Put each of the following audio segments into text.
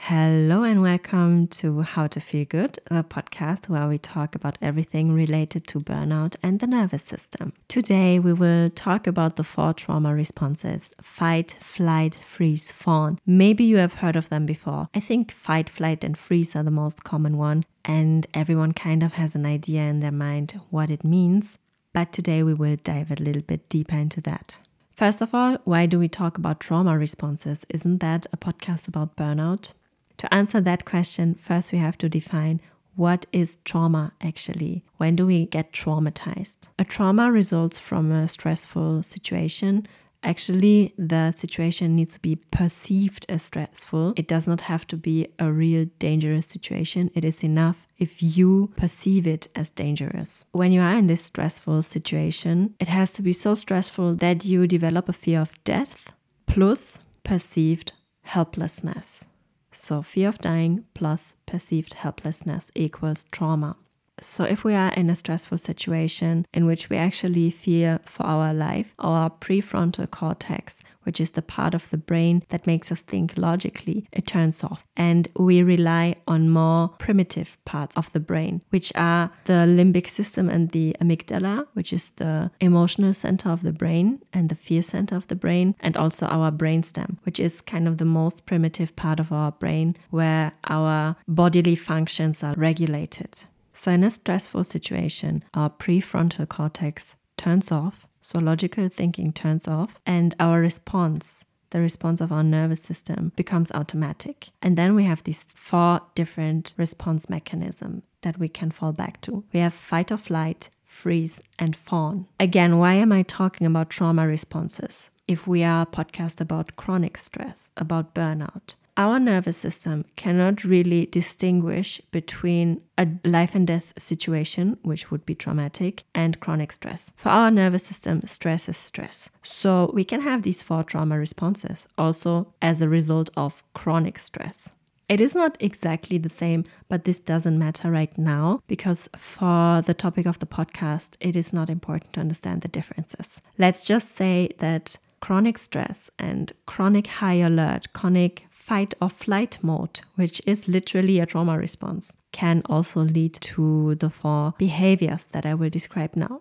Hello and welcome to How to Feel Good, the podcast where we talk about everything related to burnout and the nervous system. Today we will talk about the 4 trauma responses: fight, flight, freeze, fawn. Maybe you have heard of them before. I think fight, flight and freeze are the most common one, and everyone kind of has an idea in their mind what it means. But today we will dive a little bit deeper into that. First of all, why do we talk about trauma responses? Isn't that a podcast about burnout? To answer that question, first we have to define what is trauma actually. When do we get traumatized? A trauma results from a stressful situation. Actually, the situation needs to be perceived as stressful. It does not have to be a real dangerous situation. It is enough if you perceive it as dangerous. When you are in this stressful situation, it has to be so stressful that you develop a fear of death plus perceived helplessness. So fear of dying plus perceived helplessness equals trauma. So if we are in a stressful situation in which we actually fear for our life, our prefrontal cortex, which is the part of the brain that makes us think logically, it turns off. And we rely on more primitive parts of the brain, which are the limbic system and the amygdala, which is the emotional center of the brain and the fear center of the brain, and also our brainstem, which is kind of the most primitive part of our brain where our bodily functions are regulated. So in a stressful situation, our prefrontal cortex turns off, so logical thinking turns off, and our response, the response of our nervous system, becomes automatic. And then we have these 4 different response mechanisms that we can fall back to. We have fight or flight, freeze, and fawn. Again, why am I talking about trauma responses? If we are a podcast about chronic stress, about burnout, our nervous system cannot really distinguish between a life and death situation, which would be traumatic, and chronic stress. For our nervous system, stress is stress. So we can have these 4 trauma responses also as a result of chronic stress. It is not exactly the same, but this doesn't matter right now because for the topic of the podcast, it is not important to understand the differences. Let's just say that chronic stress and chronic high alert, chronic fight or flight mode, which is literally a trauma response, can also lead to the 4 behaviors that I will describe now.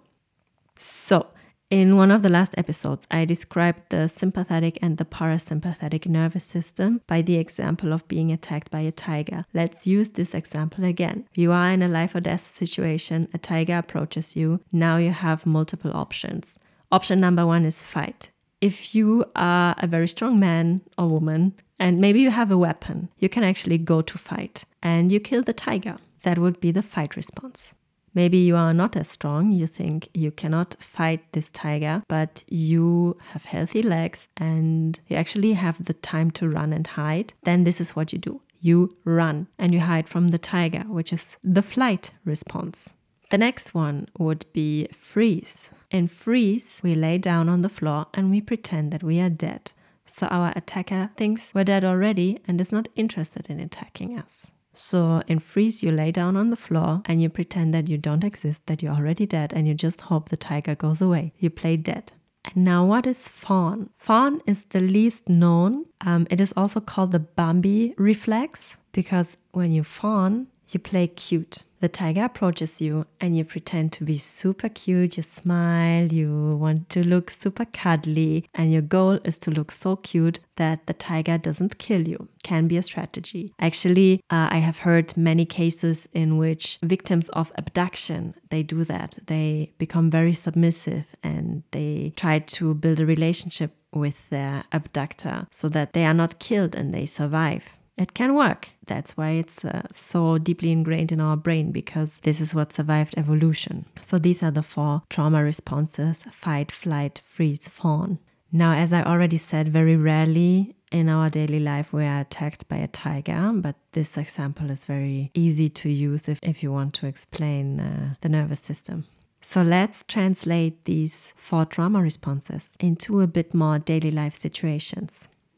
So, in one of the last episodes, I described the sympathetic and the parasympathetic nervous system by the example of being attacked by a tiger. Let's use this example again. You are in a life or death situation, a tiger approaches you, now you have multiple options. Option number 1 is fight. If you are a very strong man or woman, and maybe you have a weapon, you can actually go to fight and you kill the tiger. That would be the fight response. Maybe you are not as strong, you think you cannot fight this tiger, but you have healthy legs and you actually have the time to run and hide. Then this is what you do. You run and you hide from the tiger, which is the flight response. The next one would be freeze. In freeze, we lay down on the floor and we pretend that we are dead. So our attacker thinks we're dead already and is not interested in attacking us. So in freeze, you lay down on the floor and you pretend that you don't exist, that you're already dead, and you just hope the tiger goes away. You play dead. And now what is fawn? Fawn is the least known. It is also called the Bambi reflex because when you fawn, you play cute. The tiger approaches you and you pretend to be super cute. You smile, you want to look super cuddly, and your goal is to look so cute that the tiger doesn't kill you. Can be a strategy. Actually, I have heard many cases in which victims of abduction, they do that. They become very submissive and they try to build a relationship with their abductor so that they are not killed and they survive. It can work. That's why it's so deeply ingrained in our brain, because this is what survived evolution. So these are the 4 trauma responses: fight, flight, freeze, fawn. Now, as I already said, very rarely in our daily life we are attacked by a tiger, but this example is very easy to use if you want to explain the nervous system. So let's translate these 4 trauma responses into a bit more daily life situations.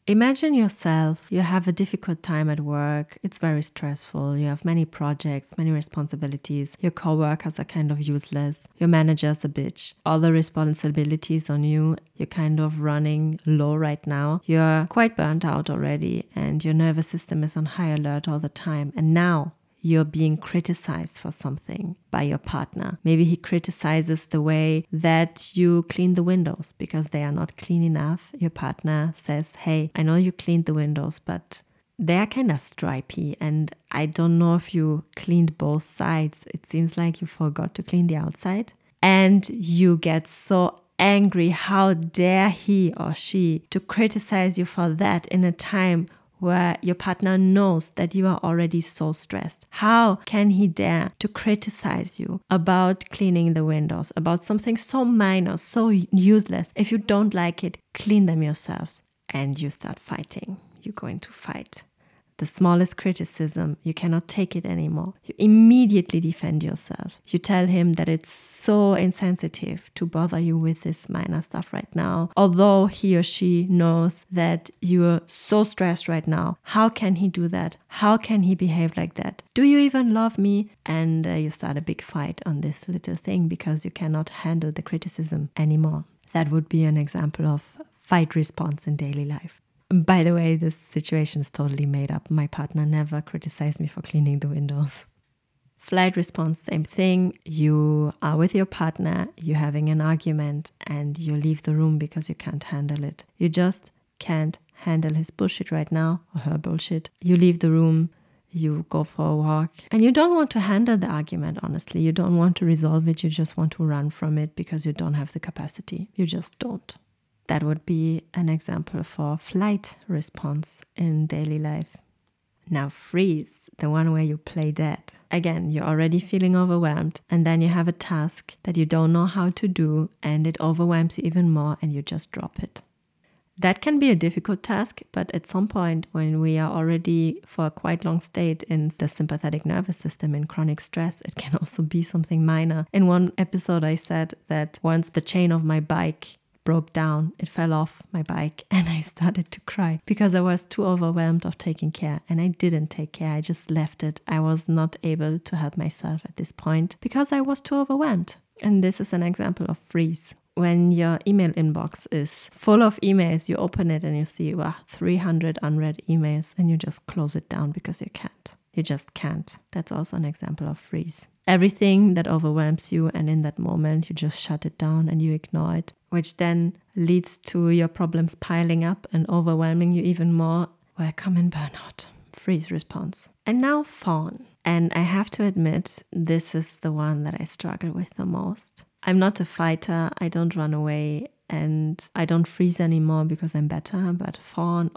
Imagine yourself, you have a difficult time at work, it's very stressful, you have many projects, many responsibilities, your coworkers are kind of useless, your manager's a bitch, all the responsibilities on you, you're kind of running low right now, you're quite burnt out already and your nervous system is on high alert all the time, and now you're being criticized for something by your partner. Maybe he criticizes the way that you clean the windows because they are not clean enough. Your partner says, hey, I know you cleaned the windows, but they are kind of stripy and I don't know if you cleaned both sides. It seems like you forgot to clean the outside. And you get so angry. How dare he or she to criticize you for that in a time where your partner knows that you are already so stressed? How can he dare to criticize you about cleaning the windows, about something so minor, so useless? If you don't like it, clean them yourselves. And you start fighting. You're going to fight. The smallest criticism, you cannot take it anymore. You immediately defend yourself. You tell him that it's so insensitive to bother you with this minor stuff right now. Although he or she knows that you're so stressed right now. How can he do that? How can he behave like that? Do you even love me? And you start a big fight on this little thing because you cannot handle the criticism anymore. That would be an example of fight response in daily life. By the way, this situation is totally made up. My partner never criticized me for cleaning the windows. Flight response, same thing. You are with your partner, you're having an argument, and you leave the room because you can't handle it. You just can't handle his bullshit right now, or her bullshit. You leave the room, you go for a walk, and you don't want to handle the argument, honestly. You don't want to resolve it, you just want to run from it because you don't have the capacity. You just don't. That would be an example for flight response in daily life. Now freeze, the one where you play dead. Again, you're already feeling overwhelmed and then you have a task that you don't know how to do and it overwhelms you even more and you just drop it. That can be a difficult task, but at some point when we are already for a quite long state in the sympathetic nervous system in chronic stress, it can also be something minor. In one episode I said that once the chain of my bike broke down, it fell off my bike and I started to cry because I was too overwhelmed of taking care, and I didn't take care. I just left it. I was not able to help myself at this point because I was too overwhelmed. And this is an example of freeze. When your email inbox is full of emails, you open it and you see 300 unread emails and you just close it down because you can't. You just can't. That's also an example of freeze. Everything that overwhelms you, and in that moment you just shut it down and you ignore it, which then leads to your problems piling up and overwhelming you even more. Welcome in burnout. Freeze response. And now fawn. And I have to admit, this is the one that I struggle with the most. I'm not a fighter. I don't run away and I don't freeze anymore because I'm better. But fawn,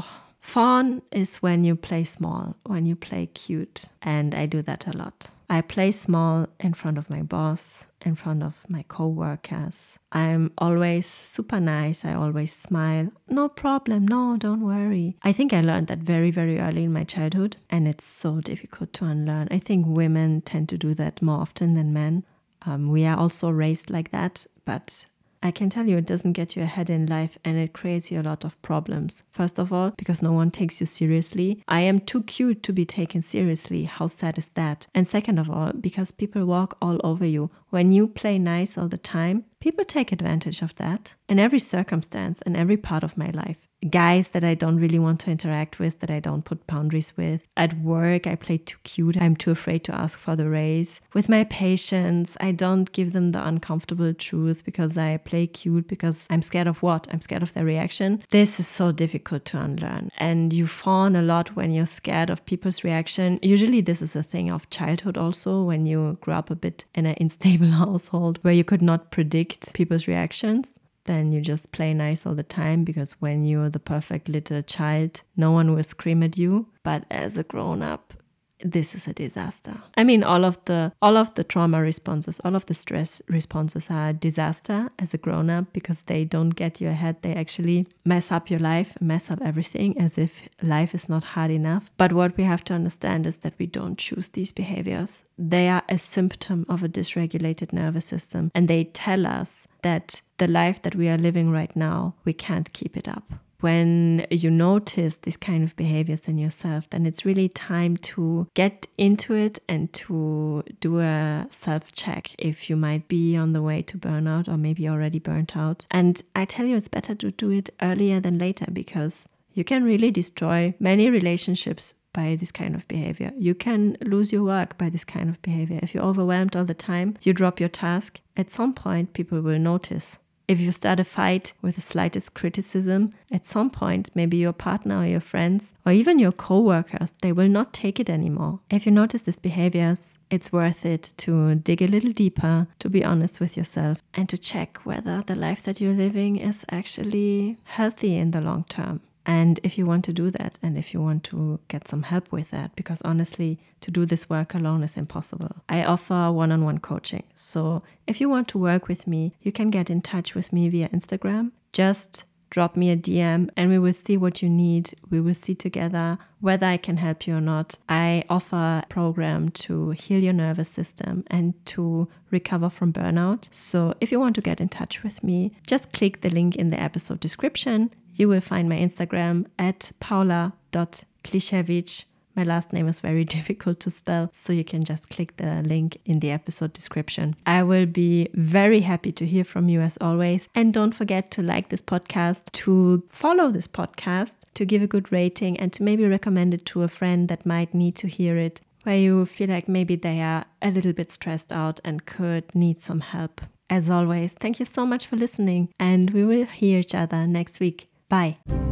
fawn is when you play small, when you play cute. And I do that a lot. I play small in front of my boss, in front of my co-workers. I'm always super nice. I always smile. No problem. No, don't worry. I think I learned that very, very early in my childhood. And it's so difficult to unlearn. I think women tend to do that more often than men. We are also raised like that, but I can tell you it doesn't get you ahead in life and it creates you a lot of problems. First of all, because no one takes you seriously. I am too cute to be taken seriously. How sad is that? And second of all, because people walk all over you. When you play nice all the time, people take advantage of that in every circumstance and every part of my life. Guys that I don't really want to interact with, that I don't put boundaries with. At work, I play too cute. I'm too afraid to ask for the raise. With my patients, I don't give them the uncomfortable truth because I play cute because I'm scared of what? I'm scared of their reaction. This is so difficult to unlearn. And you fawn a lot when you're scared of people's reaction. Usually this is a thing of childhood also, when you grew up a bit in an unstable household where you could not predict people's reactions. Then you just play nice all the time because when you're the perfect little child, no one will scream at you. But as a grown-up, this is a disaster. I mean, all of the trauma responses, all of the stress responses are a disaster as a grown-up because they don't get you ahead. They actually mess up your life, mess up everything as if life is not hard enough. But what we have to understand is that we don't choose these behaviors. They are a symptom of a dysregulated nervous system, and they tell us that the life that we are living right now, we can't keep it up. when you notice these kind of behaviors in yourself, then it's really time to get into it and to do a self-check if you might be on the way to burnout or maybe already burnt out. And I tell you, it's better to do it earlier than later, because you can really destroy many relationships by this kind of behavior. You can lose your work by this kind of behavior. If you're overwhelmed all the time, you drop your task, at some point people will notice. If you start a fight with the slightest criticism, at some point, maybe your partner or your friends or even your co-workers, they will not take it anymore. If you notice these behaviors, it's worth it to dig a little deeper, to be honest with yourself, and to check whether the life that you're living is actually healthy in the long term. And if you want to do that, and if you want to get some help with that, because honestly, to do this work alone is impossible. I offer one-on-one coaching. So if you want to work with me, you can get in touch with me via Instagram. Just drop me a DM and we will see what you need. We will see together whether I can help you or not. I offer a program to heal your nervous system and to recover from burnout. So if you want to get in touch with me, just click the link in the episode description. You will find my Instagram at paula.klichewicz. My last name is very difficult to spell, so you can just click the link in the episode description. I will be very happy to hear from you as always. And don't forget to like this podcast, to follow this podcast, to give a good rating, and to maybe recommend it to a friend that might need to hear it, where you feel like maybe they are a little bit stressed out and could need some help. As always, thank you so much for listening, and we will hear each other next week. Bye.